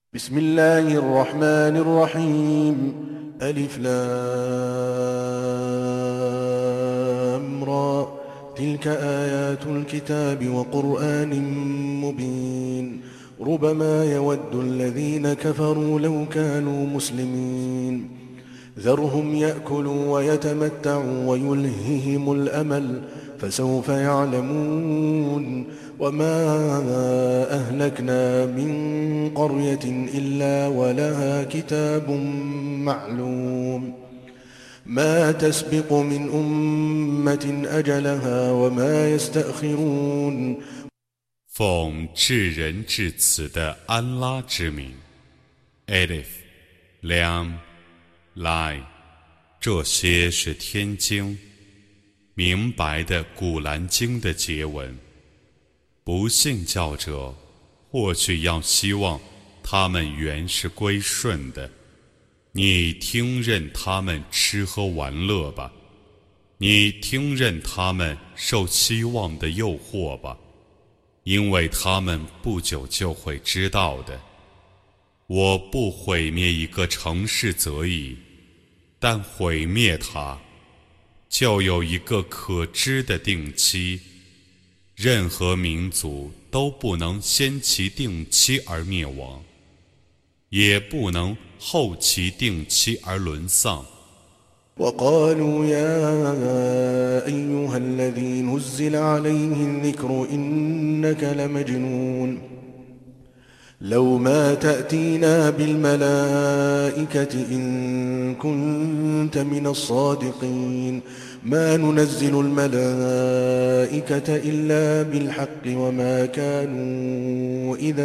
بسم الله الرحمن الرحيم ألف لام را تلك آيات الكتاب وقرآن مبين ربما يود الذين كفروا لو كانوا مسلمين ذرهم يأكلوا ويتمتعوا ويلههم الأمل فسوف يعلمون وما أهلكنا من قرية إلا ولها كتاب معلوم ما تسبق من أمة أجلها وما يستأخرون 奉至仁至慈的安拉之名 ，Alif Lam Lai， 这些是天经明白的古兰经的结文。不信教者或许要希望他们原是归顺的，你听任他们吃喝玩乐吧，你听任他们受希望的诱惑吧，因为他们不久就会知道的。我不毁灭一个城市则已，但毁灭它，就有一个可知的定期。任何民族都不能先其定期而灭亡，也不能后其定期而沦丧。 وقالوا يا أيها الذي نزل عليه الذكر إنك لمجنون لو ما تأتينا بالملائكة إن كنت من الصادقين ما ننزل الملائكة إلا بالحق وما كانوا إذا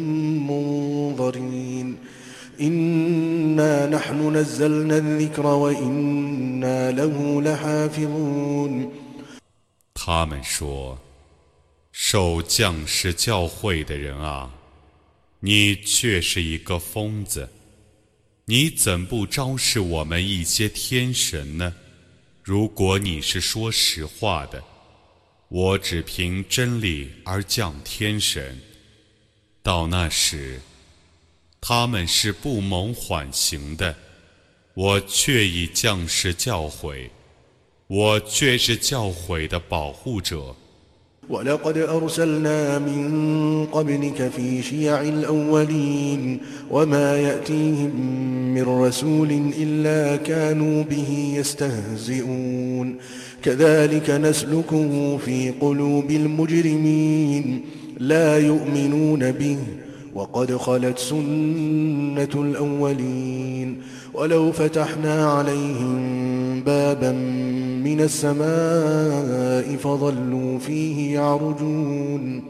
منظرين إنا نحن نزلنا الذكر وإنا له لحافظون 他们说：“受降世教诲的人啊，你却是一个疯子，你怎不昭示我们一些天神呢？如果你是说实话的，我只凭真理而降天神。到那时，他们是不蒙缓刑的，我却已降世教诲，我却是教诲的保护者。” ولقد أرسلنا من قبلك في شيع الأولين وما يأتيهم من رسول إلا كانوا به يستهزئون كذلك نسلكه في قلوب المجرمين لا يؤمنون به وقد خلت سنة الأولين ولو فتحنا عليهم بابا من السماء فظلوا فيه يعرجون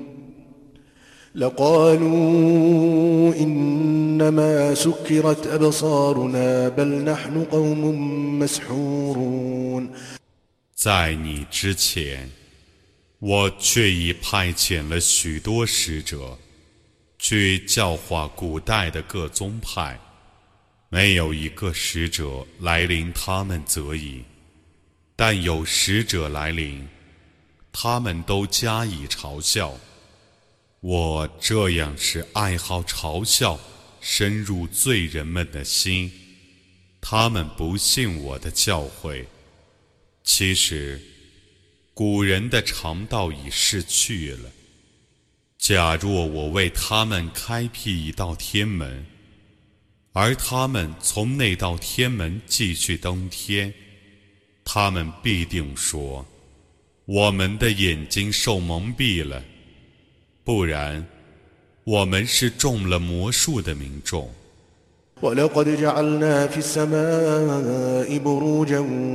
لقالوا إنما سكرت أبصارنا بل نحن قوم مسحورون 在你之前，我却已派遣了许多使者，去教化古代的各宗派，没有一个使者来临他们则已。但有使者来临，他们都加以嘲笑。我这样是爱好嘲笑深入罪人们的心，他们不信我的教诲。其实，古人的常道已逝去了。假若我为他们开辟一道天门，而他们从那道天门继续登天，他们必定说：“我们的眼睛受蒙蔽了，不然，我们是中了魔术的民众。” ولقد جعلنا في السماء بروجا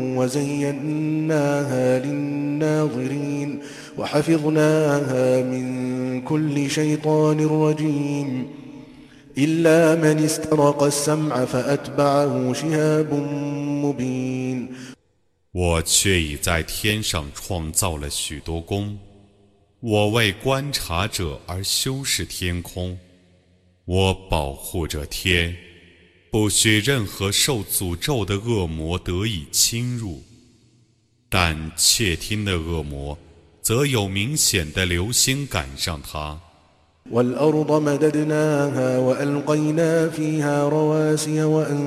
وزيناها للناظرين وحفظناها من كل شيطان رجيم إلا من استرق السمع فأتبعه شهاب مبين 我却已在天上创造了许多宫，我为观察者而修饰天空，我保护着天，不许任何受诅咒的恶魔得以侵入，但窃听的恶魔则有明显的流星赶上他。 والأرض مددناها وألقينا فيها رواسي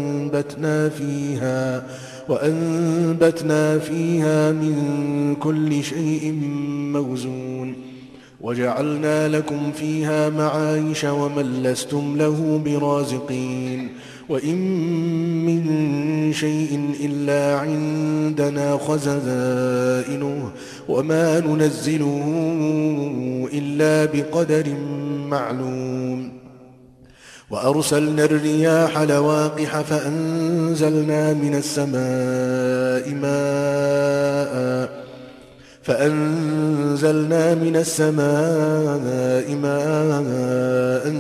وأنبتنا فيها من كل شيء موزون وجعلنا لكم فيها معايش ومن لستم له برازقين وإن من شيء إلا عندنا خزائنه وما ننزله إلا بقدر معلوم وأرسلنا الرياح لواقح فأنزلنا من السماء ماء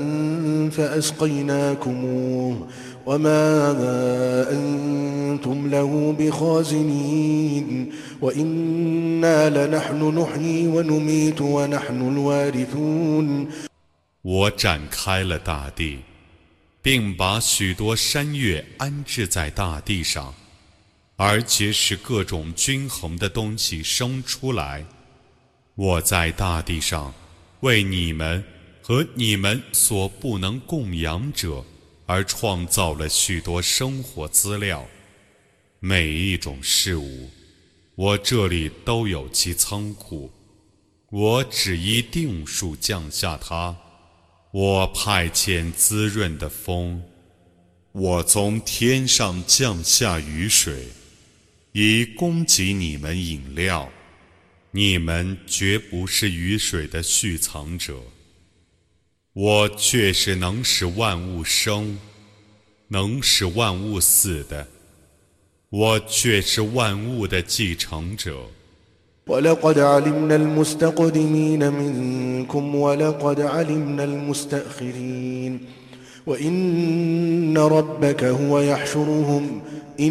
فأسقيناكموه وما أنتم له بخازنين وإنا لنحن نحيي ونميت ونحن الوارثون 我展开了大地，并把许多山岳安置在大地上，而且使各种均衡的东西生出来。我在大地上为你们和你们所不能供养者而创造了许多生活资料。每一种事物，我这里都有其仓库。我只依定数降下它。我派遣滋润的风，我从天上降下雨水，以供给你们饮料。你们绝不是雨水的蓄藏者。我却是能使万物生，能使万物死的。我却是万物的继承者。 ولقد علمنا المستقدمين منكم ولقد علمنا المستأخرين وإن ربك هو يحشرهم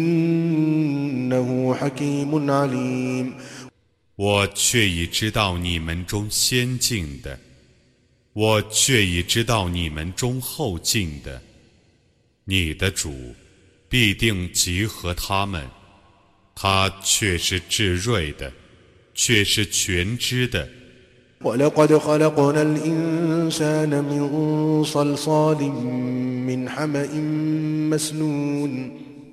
إنه حكيم عليم 我却已知道你们中先进的，我却已知道你们中后进的。你的主必定集合他们，他却是至睿的，却是全知的。 ولقد خلقنا الإنسان من صلصال من حمأ مسنون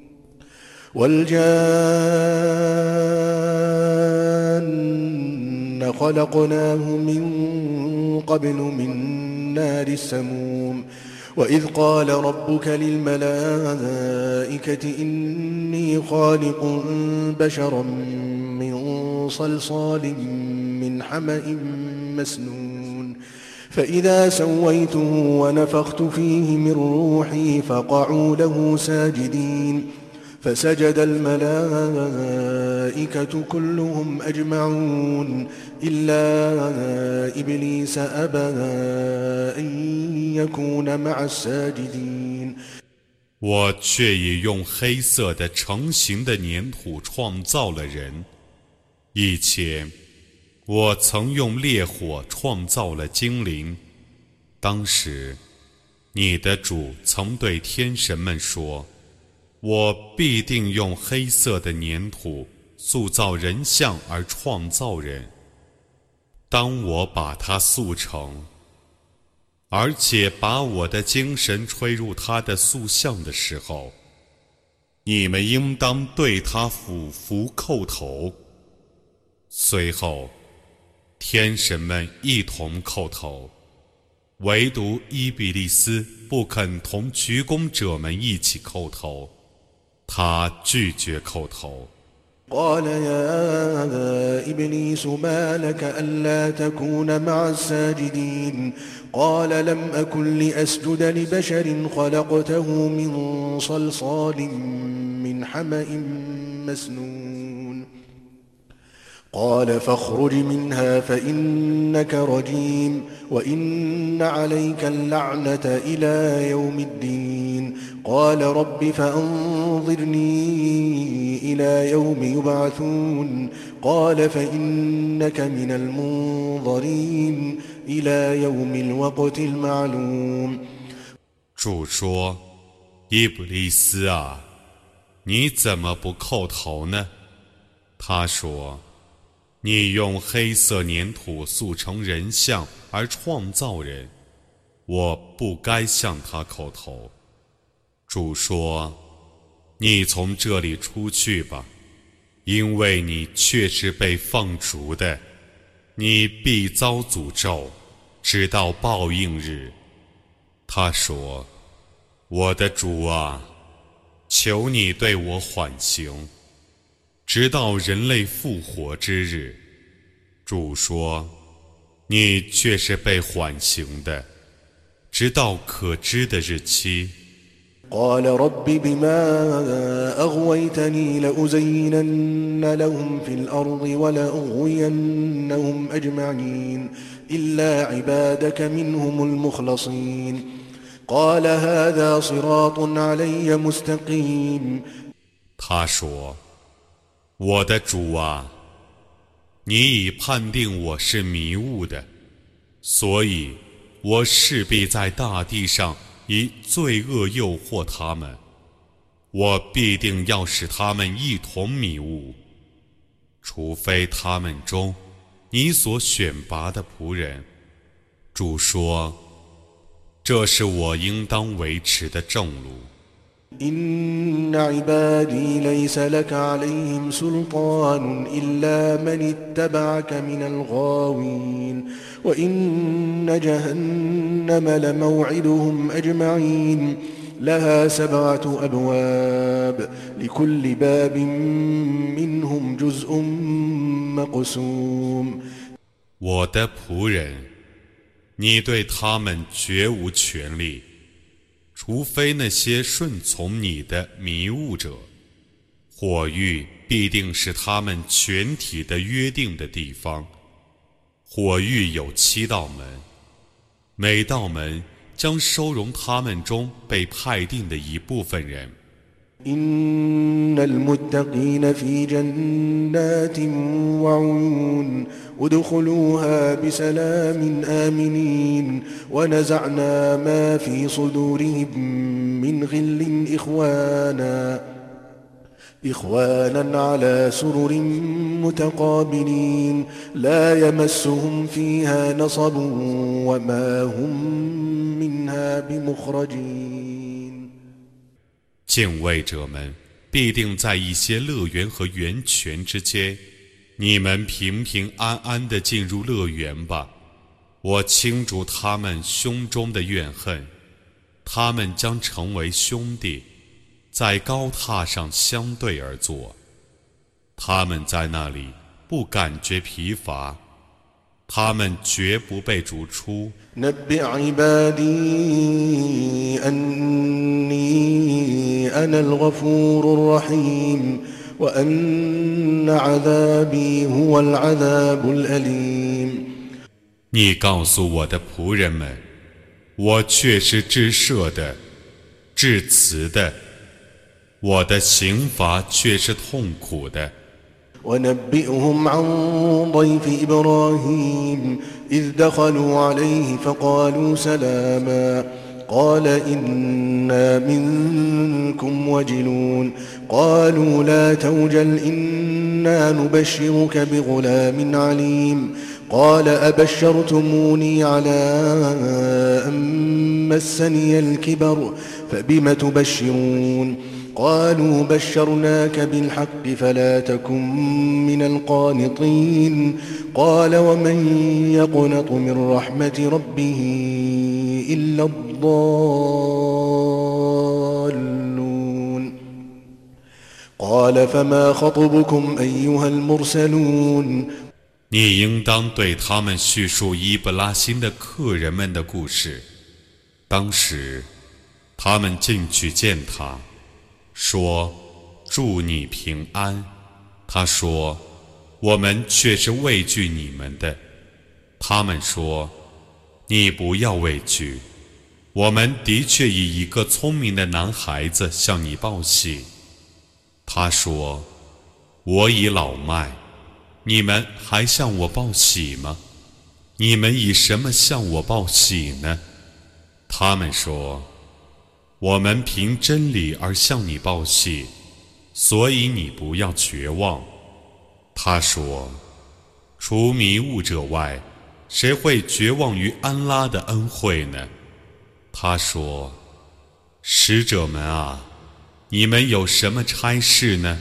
والجان خلقناه من قبل من نار السموم وإذ قال ربك للملائكة إني خالق بشرا من صلصال من حمأ مسنون فإذا سويته ونفخت فيه من روحي فقعوا له ساجدين فسجد الملائكة كلهم أجمعون إلا إبليس أبى أن يكون مع الساجدين 我却已用黑色的成型的粘土创造了人。以前，我曾用烈火创造了精灵。当时，你的主曾对天神们说：“我必定用黑色的粘土塑造人像而创造人。当我把它塑成，而且把我的精神吹入他的塑像的时候，你们应当对他俯伏叩头。”随后，天神们一同叩头，唯独伊比利斯不肯同鞠躬者们一起叩头，他拒绝叩头。 قال يا إبليس ما لك ألا تكون مع الساجدين قال لم أكن لأسجد لبشر خلقته من صلصال من حمأ مسنون قال فاخرج منها فإنك رجيم وإن عليك اللعنة إلى يوم الدين قال رب فأنظرني إلى يوم يبعثون قال فإنك من المنظرين إلى يوم الوقت المعلوم 主说：“伊布利斯啊，你怎么不叩头呢？”他说：“你用黑色粘土塑成人像而创造人， 我不该向他叩头。主说：你从这里出去吧，因为你却是被放逐的，你必遭诅咒，直到报应日。他说：我的主啊，求你对我缓刑，直到人类复活之日。主说：你却是被缓刑的，直到可知的日期。 قال رب بما أغويتني لأزينن لهم في الأرض ولأغوينهم أجمعين إلا عبادك منهم المخلصين قال هذا صراط علي مستقيم 他说：我的主啊，你已判定我是迷雾的，所以我势必在大地上以罪恶诱惑他们，我必定要使他们一同迷雾，除非他们中你所选拔的仆人。主说：这是我应当维持的正路。 إن عبادي ليس لك عليهم سلطان إلا من اتبعك من الغاوين وإن جهنم لموعدهم أجمعين لها 7 أبواب لكل باب منهم جزء مقسوم 我的仆人，你对他们绝无权利，除非那些顺从你的迷雾者。火狱必定是他们全体的约定的地方。火狱有7道门，每道门将收容他们中被派定的一部分人。 إن المتقين في جنات وعيون ادخلوها بسلام آمنين ونزعنا ما في صدورهم من غل إخوانا على سرر متقابلين لا يمسهم فيها نصب وما هم منها بمخرجين 敬畏者们必定在一些乐园和源泉之间，你们平平安安地进入乐园吧。我清除他们胸中的怨恨，他们将成为兄弟，在高榻上相对而坐。他们在那里不感觉疲乏，他们绝不被逐出。 نبئ عبادي أني أنا الغفور الرحيم وأن عذابي هو العذاب الأليم 你告诉我的仆人们，我却是至赦的、至慈的，我的刑罚却是痛苦的。 ونبئهم عن ضيف إبراهيم إذ دخلوا عليه فقالوا سلاما قال إنا منكم وجلون قالوا لا توجل إنا نبشرك بغلام عليم قال أبشرتموني على أن مسني الكبر فبم تبشرون قالوا بشرناك بالحق فلا تكن من القانطين قال ومن يقنط من رحمة ربه إلا الضالون قال فما خطبكم أيها المرسلون 你应当对他们叙述伊布拉欣的客人们的故事。当时，他们进去见他，说：“祝你平安。”他说：“我们却是畏惧你们的。”他们说：“你不要畏惧，我们的确以一个聪明的男孩子向你报喜。”他说：“我已老迈。”你们还向我报喜吗？你们以什么向我报喜呢？他们说：我们凭真理而向你报喜，所以你不要绝望。他说：除迷雾者外，谁会绝望于安拉的恩惠呢？ 他说：“使者们啊，你们有什么差事呢？”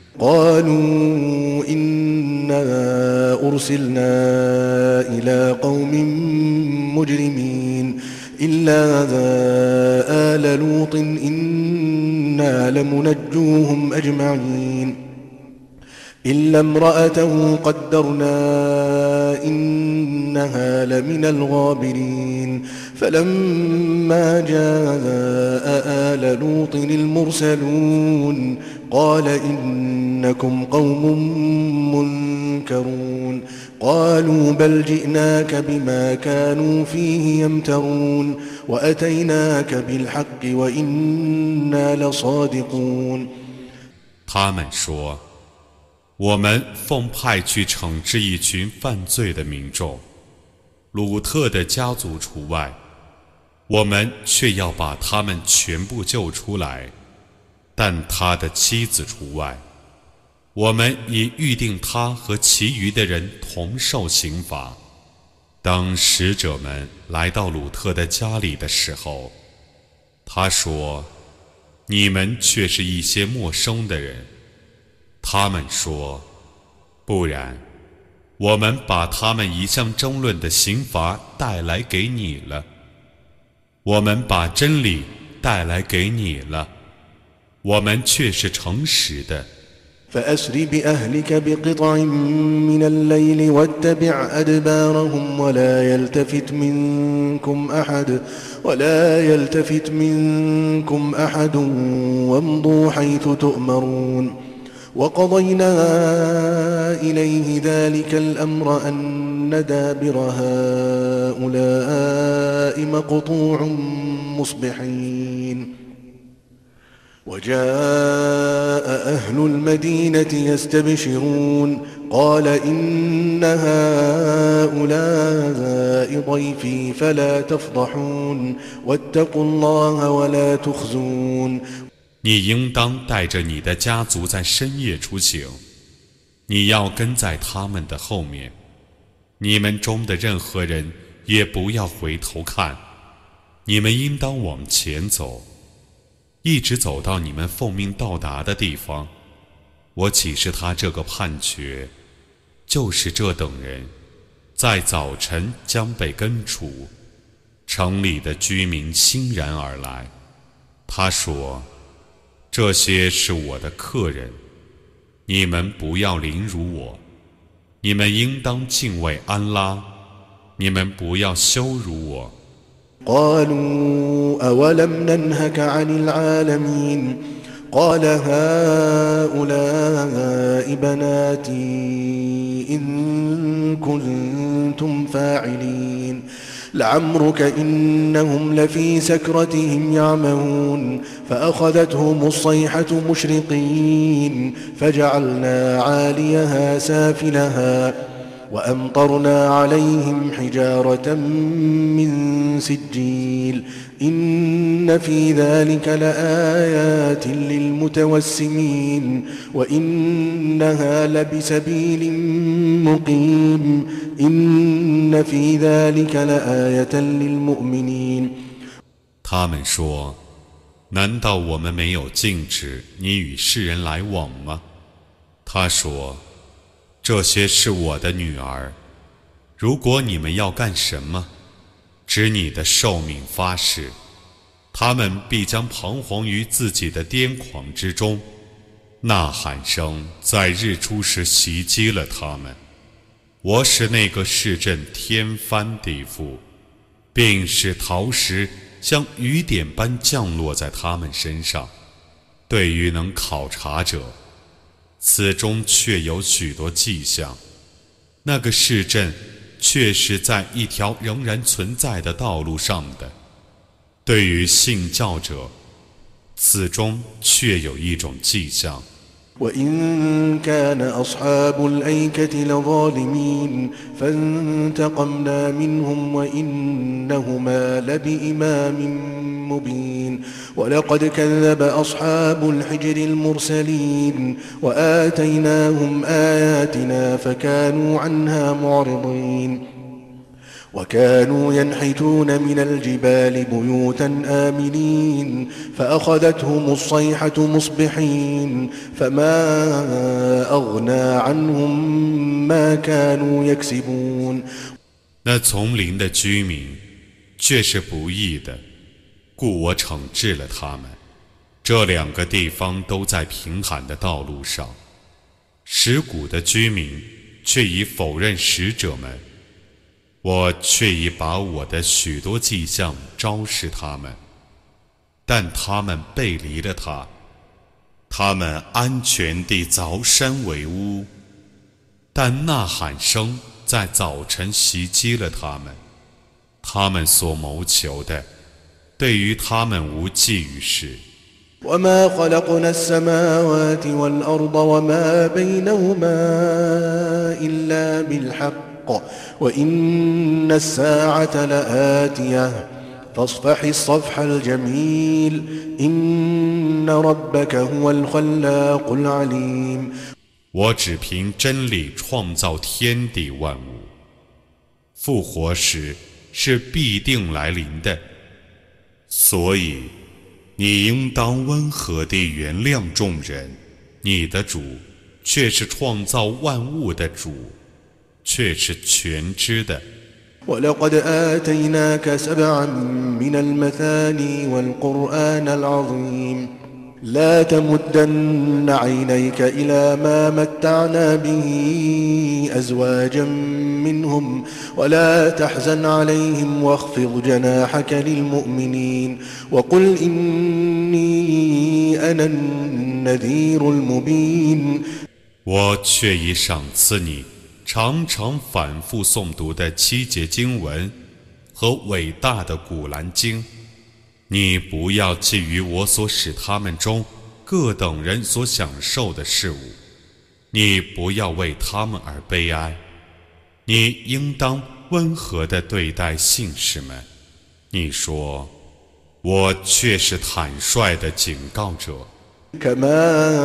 قالوا إنا أرسلنا إلى قوم مجرمين إلا آل لوط إنا لمنجوهم أجمعين إلا امرأته قدرنا إنها لمن الغابرين فلما جاء آل لوط المرسلون قال إنكم قوم منكرون قالوا بل جئناك بما كانوا فيه يمترون وأتيناك بالحق وإنا لصادقون 他们说：“我们奉派去惩治一群犯罪的民众，鲁特的家族除外，我们却要把他们全部救出来，但他的妻子除外。我们已预定他和其余的人同受刑罚。”当使者们来到鲁特的家里的时候，他说：“你们却是一些陌生的人。”他们说：“不然，我们把他们一向争论的刑罚带来给你了。我们把真理带来给你了，我们却是诚实的。” فأسر بأهلك بقطع من الليل واتبع أدبارهم ولا يلتفت منكم أحد وامضوا حيث تؤمرون وقضينا إليه ذلك الأمر أن دابر هؤلاء مقطوع مصبحين وجاء أهل المدينة يستبشرون قال إن هؤلاء ضيفي فلا تفضحون واتقوا الله ولا تخزون 你应当带着你的家族在深夜出行，你要跟在他们的后面，你们中的任何人也不要回头看，你们应当往前走，一直走到你们奉命到达的地方。我启示他这个判决，就是这等人在早晨将被根除，城里的居民欣然而来。他说：“这些是我的客人，你们不要凌辱我，你们应当敬畏安拉，你们不要羞辱我。” قالوا أولم ننهك عن العالمين قال هؤلاء بناتي إن كنتم فاعلين لعمرك إنهم لفي سكرتهم يعمهون فأخذتهم الصيحة مشرقين فجعلنا عاليها سافلها وأمطرنا عليهم حجارة من سجيل إن في ذلك لآيات للمتوسمين وإنها لبسبيل مقيم إن في ذلك لآية للمؤمنين 他们说：“难道我们没有禁止你与世人来往吗？”他说：“这些是我的女儿，如果你们要干什么，指你的寿命发誓，他们必将彷徨于自己的癫狂之中，呐喊声在日出时袭击了他们。我使那个市镇天翻地覆，并使陶石像雨点般降落在他们身上。对于能考察者，此中确有许多迹象。那个市镇确是在一条仍然存在的道路上的。对于信教者，此中确有一种迹象。 وإن كان أصحاب الأيكة لظالمين فانتقمنا منهم وإنهما لبإمام مبين ولقد كذب أصحاب الحجر المرسلين وآتيناهم آياتنا فكانوا عنها معرضين وكانوا ينحتون من الجبال بيوتا آمنين فأخذتهم الصيحة مصبحين فما أغنى عنهم ما كانوا يكسبون 那丛林的居民却是不义的，故我惩治了他们。这两个地方都在平坦的道路上，石谷的居民却已否认使者们，我却已把我的许多迹象昭示他们，但他们背离了他，他们安全地凿山为屋，但呐喊声在早晨袭击了他们，他们所谋求的对于他们无济于事。 وما خلقنا السماوات والأرض وما بينهما إلا بالحق وإن الساعة لآتية فاصفح الصفح الجميل إن ربك هو الخلاق العليم 我只凭真理创造天地万物，复活时是必定来临的，所以你应当温和地原谅众人，你的主却是创造万物的主，却是全知的。 ولقد آتيناك سبعا من المثاني والقرآن العظيم لا تمدن عينيك إلى ما متعنا به أزواجا منهم ولا تحزن عليهم واخفض جناحك للمؤمنين وقل إني أنا النذير المبين 我却已赏赐你常常反复诵读的7节经文和伟大的古兰经，你不要觊觎我所使他们中各等人所享受的事物，你不要为他们而悲哀，你应当温和地对待信士们。你说，我却是坦率的警告者。 كما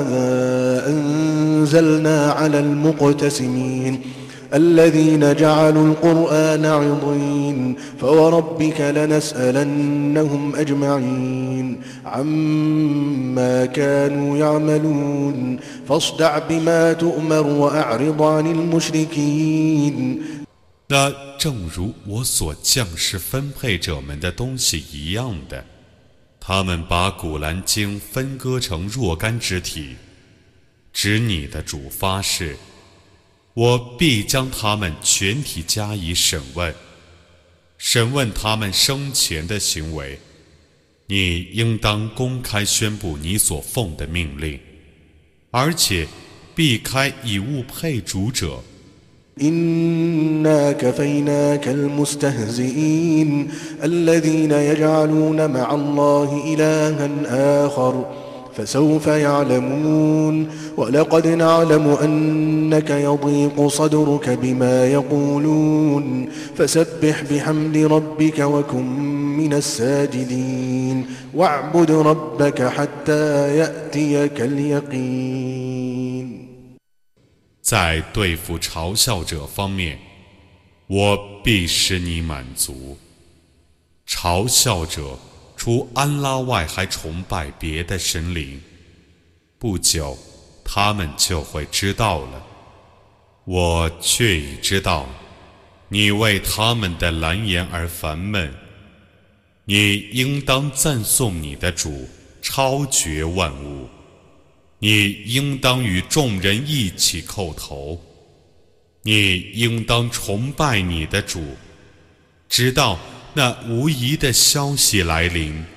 أنزلنا على المقتسمين الذين جعلوا القرآن عضين فوربك لنسألنهم أجمعين عما كانوا يعملون فاصدع بما تؤمر وأعرض عن المشركين 那正如我所降世分配者们的东西一样的，他们把古兰经分割成若干支体，指你的主发誓，我必将他们全体加以审问，审问他们生前的行为。你应当公开宣布你所奉的命令，而且避开以物配主者。 إنا كفيناك المستهزئين الذين يجعلون مع الله إلها آخر فسوف يعلمون ولقد نعلم أنك يضيق صدرك بما يقولون فسبح بحمد ربك وكن من الساجدين واعبد ربك حتى يأتيك اليقين 在对付嘲笑者方面，我必使你满足。嘲笑者除安拉外还崇拜别的神灵，不久他们就会知道了。我却已知道，你为他们的蓝言而烦闷。你应当赞颂你的主，超绝万物。你应当与众人一起叩头，你应当崇拜你的主，直到那无疑的消息来临。